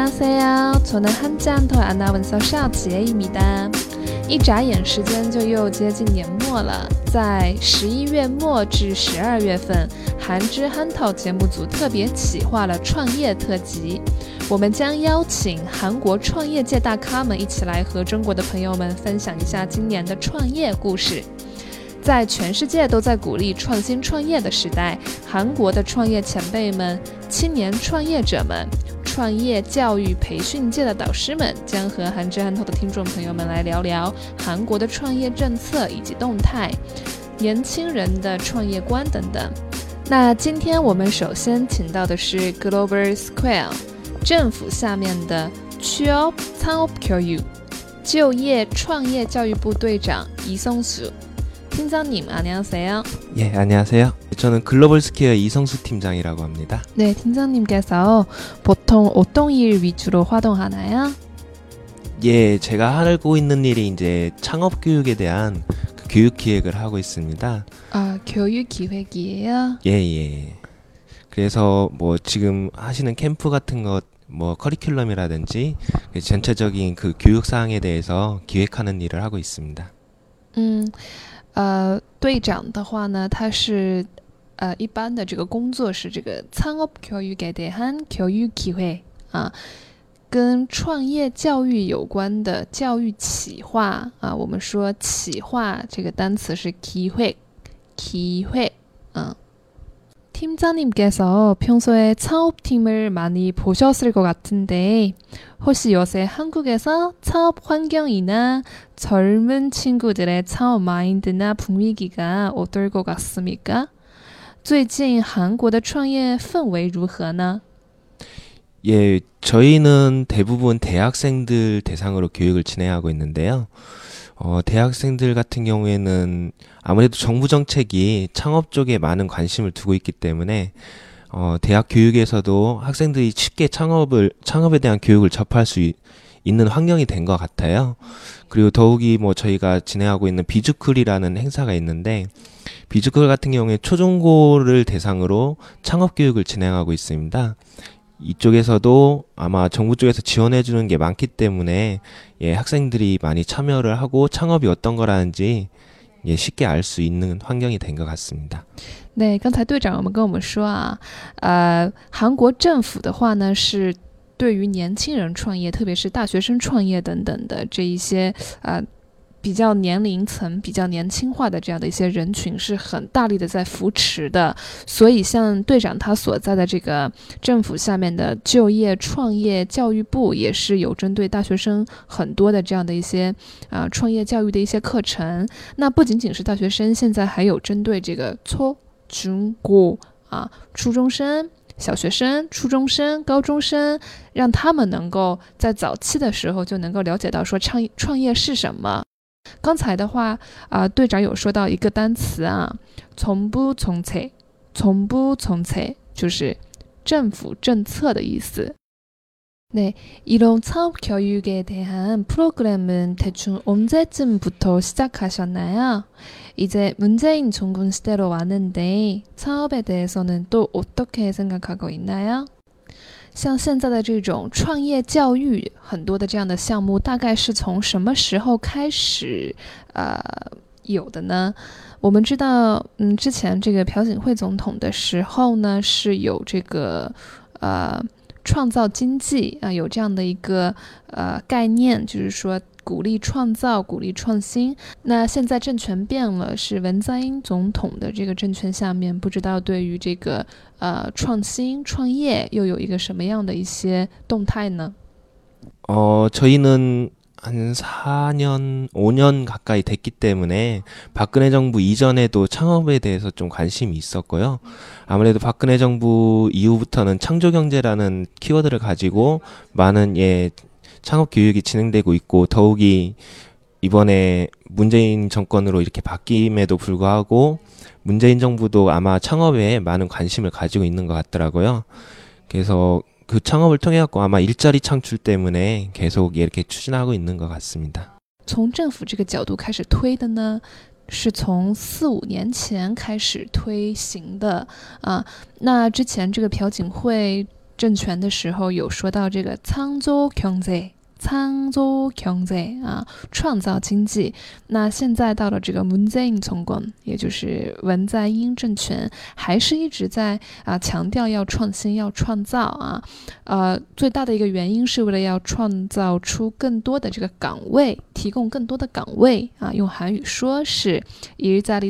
안녕하세요. 저는 한지한터 아나운서 샤오지혜입니다.一眨眼时间就又接近年末了，在11月末至12月份，韩之憨头节目组特别企划了创业特辑。我们将邀请韩国创业界大咖们一起来和中国的朋友们分享一下今年的创业故事。在全世界都在鼓励创新创业的时代，韩国的创业前辈们、青年创业者们、创业教育培训界的导师们将和韩之憨头的听众朋友们来聊聊韩国的创业政策以及动态、年轻人的创业观等等。那今天我们首先请到的是 Global Square 政府下面的취업 창업교육就业创业教育部队长이성수 팀장님 안녕하세요. 예, 안녕하세요. 저는 글로벌 스퀘어 이성수 팀장이라고 합니다. 네, 팀장님께서 보통 어떤 일 위주로 활동하나요? 예, 제가 하고 있는 일이 이제 창업 교육에 대한 그 교육 기획을 하고 있습니다. 아, 교육 기획이에요? 예. 그래서 뭐 지금 하시는 캠프 같은 것 뭐 커리큘럼이라든지 전체적인 그 교육 사항에 대해서 기획하는 일을 하고 있습니다. 队长的话呢，他是一般的这个工作是这个창업교육에 대한 교육 기획啊，跟创业教育有关的教育企划啊。我们说企划这个单词是기획，팀장님께서 평소에 창업팀을 많이 보셨을 것 같은데 혹시 요새 한국에서 창업 환경이나 젊은 친구들의 창업 마인드나 분위기가 어떨 것 같습니까? 最近韩国的创业氛围如何呢？ 예, 저희는 대부분 대학생들 대상으로 교육을 진행하고 있는데요. 대학생들 같은 경우에는 아무래도 정부 정책이 창업 쪽에 많은 관심을 두고 있기 때문에 대학 교육에서도 학생들이 쉽게 창업에 대한 교육을 접할 수 있는 환경이 된 것 같아요. 그리고 더욱이 뭐 저희가 진행하고 있는 비주클이라는 행사가 있는데 비주클 같은 경우에 초중고를 대상으로 창업 교육을 진행하고 있습니다. 이쪽에서도 아마 정부 쪽에서 지원해 주는 게 많기 때문에 예, 학생들이 많이 참여를 하고 창업이 어떤 거라는지 예, 쉽게 알 수 있는 환경이 된 것 같습니다. 对，刚才队长跟我们说啊，韩国政府的话呢是对于年轻人创业，特别是大学生创业等等的这一些比较年龄层比较年轻化的这样的一些人群是很大力的在扶持的，所以像队长他所在的这个政府下面的就业创业教育部也是有针对大学生很多的这样的一些创业教育的一些课程。那不仅仅是大学生，现在还有针对这个初中初中生、小学生、初中生、高中生，让他们能够在早期的时候就能够了解到说创业是什么。刚才的话队长有说到一个单词정부 정책，就是政府政策的意思。 네, 이런 창업교육에 대한 프로그램은 대충 언제쯤부터 시작하셨나요? 이제 문재인 정권 시대로 왔는데 창업에 대해서는 또 어떻게 생각하고 있나요? 像现在的这种创业教育很多的这样的项目大概是从什么时候开始有的呢？我们知道之前这个朴槿惠总统的时候呢是有这个创造经济有这样的一个概念，就是说鼓励创造、鼓励创新。那现在政权变了，是文在寅总统的这个政权下面，不知道对于这个创新创业又有一个什么样的一些动态呢？ 저희는 한 4년, 5년 가까이 됐기 때문에 박근혜 정부 이전에도 창업에 대해서 좀 관심이 있었고요. 아무래도 박근혜 정부 이후부터는 창조경제라는 키워드를 가지고 많은 창업 교육이 진행되고 있고 더욱이 이번에 문재인 정권으로 이렇게 바뀜에도 불구하고 문재인 정부도 아마 창업에 많은 관심을 가지고 있는 것 같더라고요. 그래서 그 창업을 통해 갖고 아마 일자리 창출 때문에 계속 이렇게 추진하고 있는 것 같습니다. 从政府这个角度开始推的呢，是从4-5年前开始推行的那之前这个朴槿惠政权的时候有说到这个창조경제啊，创造经济。那现在到了这个문재인 정권，也就是文在寅政权，还是一直在强调要创新、要创造啊。最大的一个原因是为了要创造出更多的这个岗位，提供更多的岗位啊。用韩语说是일자리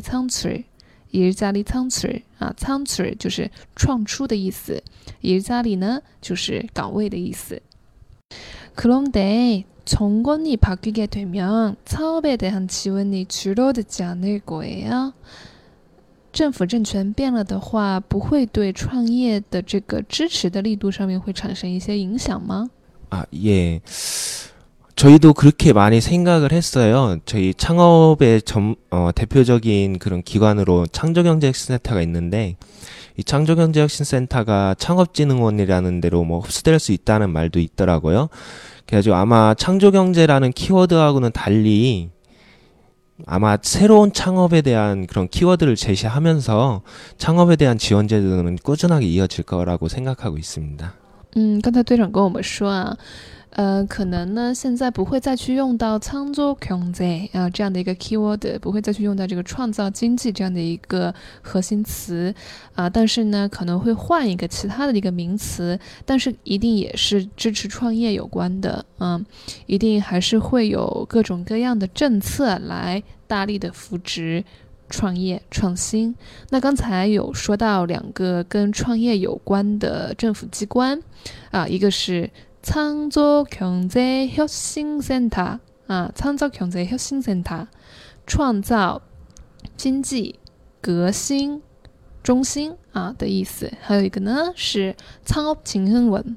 창출啊，창출就是创出的意思，일자리呢就是岗位的意思。그런데 정권이 바뀌게 되면 창업에 대한 지원이 줄어들지 않을 거예요. 政府政权变了的话，不会对创业的这个支持的力度上面会产生一些影响吗？ 예. 저희도 그렇게 많이 생각을 했어요. 저희 창업의 대표적인 그런 기관으로 창조경제혁신센터가 있는데, 이 창조경제혁신센터가 창업진흥원이라는 데로 뭐 흡수될 수 있다는 말도 있더라고요. 그래가지고 아마 창조경제라는 키워드하고는 달리 아마 새로운 창업에 대한 그런 키워드를 제시하면서 창업에 대한 지원 제도는 꾸준하게 이어질 거라고 생각하고 있습니다. 刚才队长跟我们说啊，可能呢现在不会再去用到창조경제啊这样的一个 keyword， 不会再去用到这个创造经济这样的一个核心词啊，但是呢可能会换一个其他的一个名词，但是一定也是支持创业有关的，一定还是会有各种各样的政策来大力的扶植创业创新。那刚才有说到两个跟创业有关的政府机关啊，一个是창조경제혁신센터啊，창조경제혁신센터创造经济革新中心啊的意思，还有一个呢是창업진흥원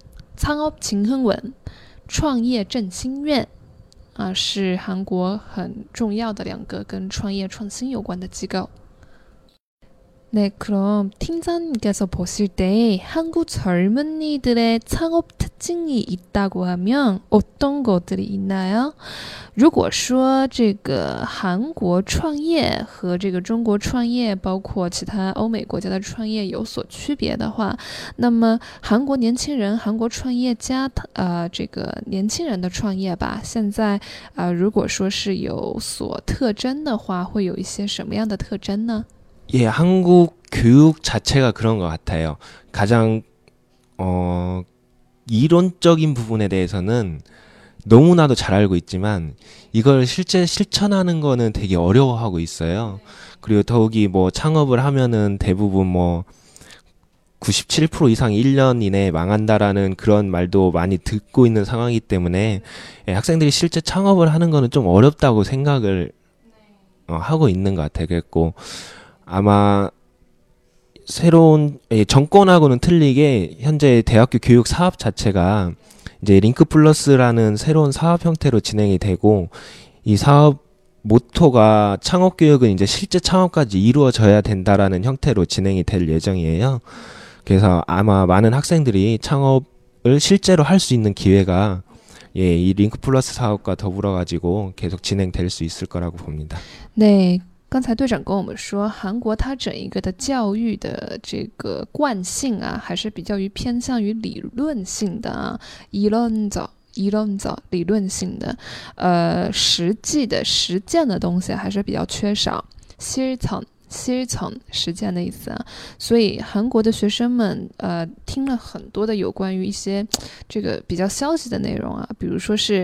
创业振兴院啊，是韩国很重要的两个跟创业创新有关的机构。 네, 그럼 팀장님께서 보실 때 한국 젊은이들의 창업 특징이 있다고 하면 어떤 것들이 있나요? 如果说这个韩国创业和这个中国创业，包括其他欧美国家的创业有所区别的话，那么韩国年轻人、韩国创业家，这个年轻人的创业吧，现在如果说是有所特征的话，会有一些什么样的特征呢？ 예, 한국 교육 자체가 그런 것 같아요. 가장 이론적인 부분에 대해서는 너무나도 잘 알고 있지만 이걸 실제 실천하는 거는 되게 어려워하고 있어요. 그리고 더욱이 뭐 창업을 하면은 대부분 뭐 97% 이상 1년 이내에 망한다라는 그런 말도 많이 듣고 있는 상황이기 때문에 학생들이 실제 창업을 하는 거는 좀 어렵다고 생각을 하고 있는 것 같아요. 그랬고 아마 새로운 정권하고는 틀리게 현재 대학교 교육 사업 자체가 이제 링크 플러스라는 새로운 사업 형태로 진행이 되고 이 사업 모토가 창업 교육은 이제 실제 창업까지 이루어져야 된다라는 형태로 진행이 될 예정이에요. 그래서 아마 많은 학생들이 창업을 실제로 할 수 있는 기회가 이 링크 플러스 사업과 더불어 가지고 계속 진행될 수 있을 거라고 봅니다. 네. 刚才队长跟我们说，韩国它整一个的教育的这个惯性啊，还是比较偏向于理论性的啊，理论性的，实际的实践的东西还是比较缺少，실천实践的意思啊，所以韩国的学生们听了很多的有关于一些这个比较消息的内容啊，比如说是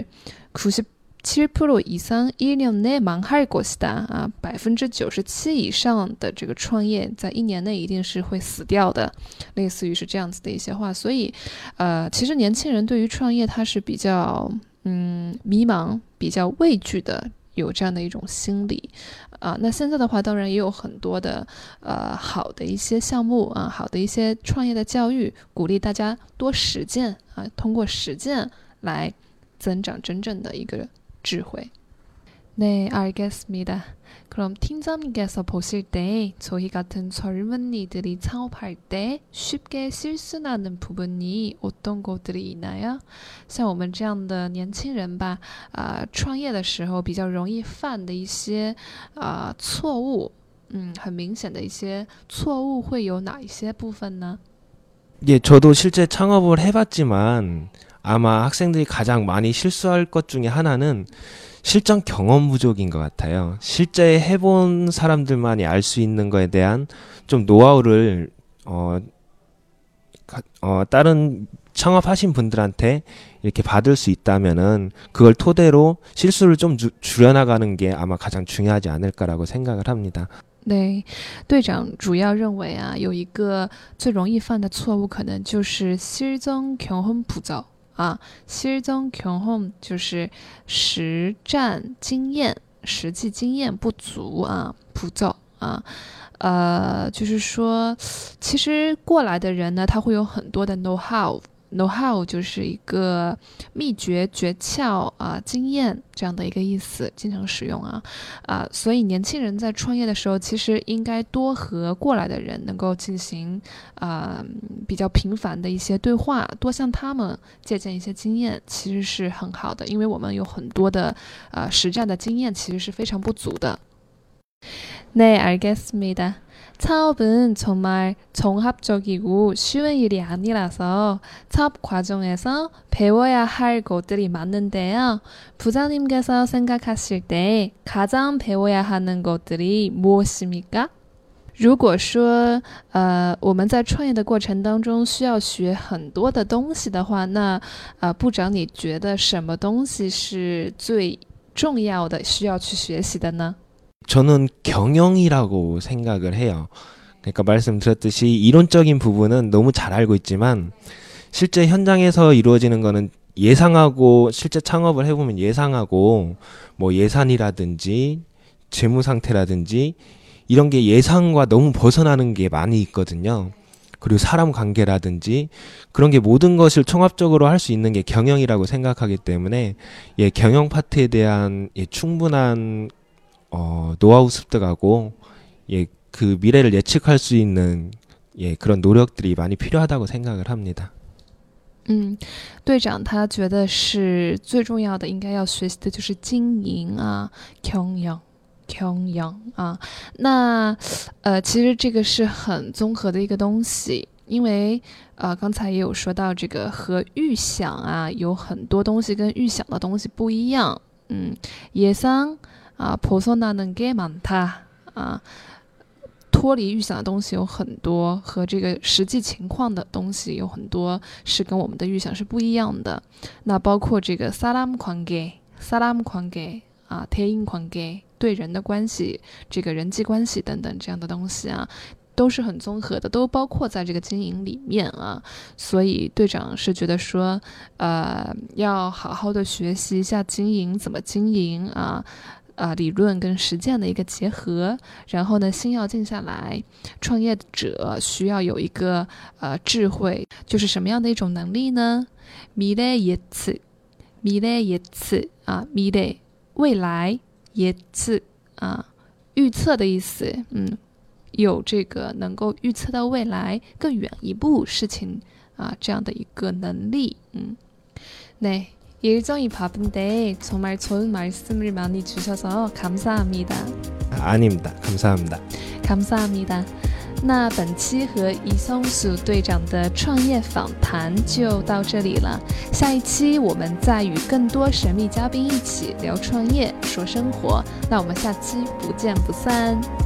97% 이상 1년 내 망할 것이다啊，97%以上的这个创业在1年内一定是会死掉的，类似于是这样子的一些话。所以其实年轻人对于创业他是比较迷茫、比较畏惧的，有这样的一种心理啊。那现在的话，当然也有很多的好的一些项目啊，好的一些创业的教育，鼓励大家多实践啊，通过实践来增长真正的一个智慧. 네, 알겠습니다. 그럼 팀장님께서 보실 때 저희 같은 젊은이들이 창업할 때 쉽게 실수하는 부분이 어떤 것들이 있나요? 像我们这样的年轻人吧，创业的时候比较容易犯的一些错误，很明显的一些错误会有哪一些部分呢？ 예, 저도 실제 창업을 해봤지만 아마 학생들이 가장 많이 실수할 것 중에 하나는 실전 경험 부족인 것 같아요. 실제 해본 사람들만이 알 수 있는 거에 대한 좀 노하우를 다른 창업하신 분들한테 이렇게 받을 수 있다면은 그걸 토대로 실수를 좀 줄여나가는 게 아마 가장 중요하지 않을까라고 생각을 합니다. 对，队长主要认为啊，有一个最容易犯的错误，可能就是실전 경험 부족啊。실전 경험就是实战经验、实际经验不足啊，부족啊。就是说，其实过来的人呢，他会有很多的 know how。know how 就是一个秘诀、诀窍啊、经验这样的一个意思，经常使用啊。所以年轻人在创业的时候，其实应该多和过来的人能够进行比较频繁的一些对话，多向他们借鉴一些经验，其实是很好的，因为我们有很多的实战的经验，其实是非常不足的。네, 알겠습니다. 창업은 정말 종합적이고 쉬운 일이 아니라서 창업 과정에서 배워야 할 것들이 많은데요. 부장님께서 생각하실 때 가장 배워야 하는 것들이 무엇입니까? 如果说我们在创业的过程当中需要学很多的东西的话，那部长你觉得什么东西是最重要的需要去学习的呢？ 저는 경영이라고 생각을 해요. 그러니까 말씀드렸듯이 이론적인 부분은 너무 잘 알고 있지만 실제 현장에서 이루어지는 거는 예상하고 실제 창업을 해보면 예상하고 뭐 예산이라든지 재무 상태라든지 이런 게 예상과 너무 벗어나는 게 많이 있거든요. 그리고 사람 관계라든지 그런 게 모든 것을 총합적으로 할 수 있는 게 경영이라고 생각하기 때문에 경영 파트에 대한 충분한 노하우 습득하고 그 미래를 예측할 수 있는 그런 노력들이 많이 필요하다고 생각을 합니다. 队长他觉得是最重要的，应该要学习的就是经营啊，경영啊。那其实这个是很综合的一个东西，因为刚才也有说到这个和预想啊，有很多东西跟预想的东西不一样。예상 벗어나는 게 많다啊，脱离预想的东西有很多，和这个实际情况的东西有很多是跟我们的预想是不一样的。那包括这个사람 관계啊，대인 관계对人的关系，这个人际关系等等这样的东西啊，都是很综合的，都包括在这个经营里面啊。所以队长是觉得说，要好好的学习一下经营，怎么经营啊。理论跟实践的一个结合，然后呢，心要静下来。创业者需要有一个智慧，就是什么样的一种能力呢？미래 예측啊，미래未来예측啊，预测的意思。有这个能够预测到未来更远一步事情啊，这样的一个能力。네. 일정이 바쁜데 정말 좋은 말씀을 많이 주셔서 감사합니다. 아닙니다. 감사합니다. 감사합니다. 那本期和易松鼠队长的创业访谈就到这里了。下一期我们再与更多神秘嘉宾一起聊创业、说生活。那我们下期不见不散。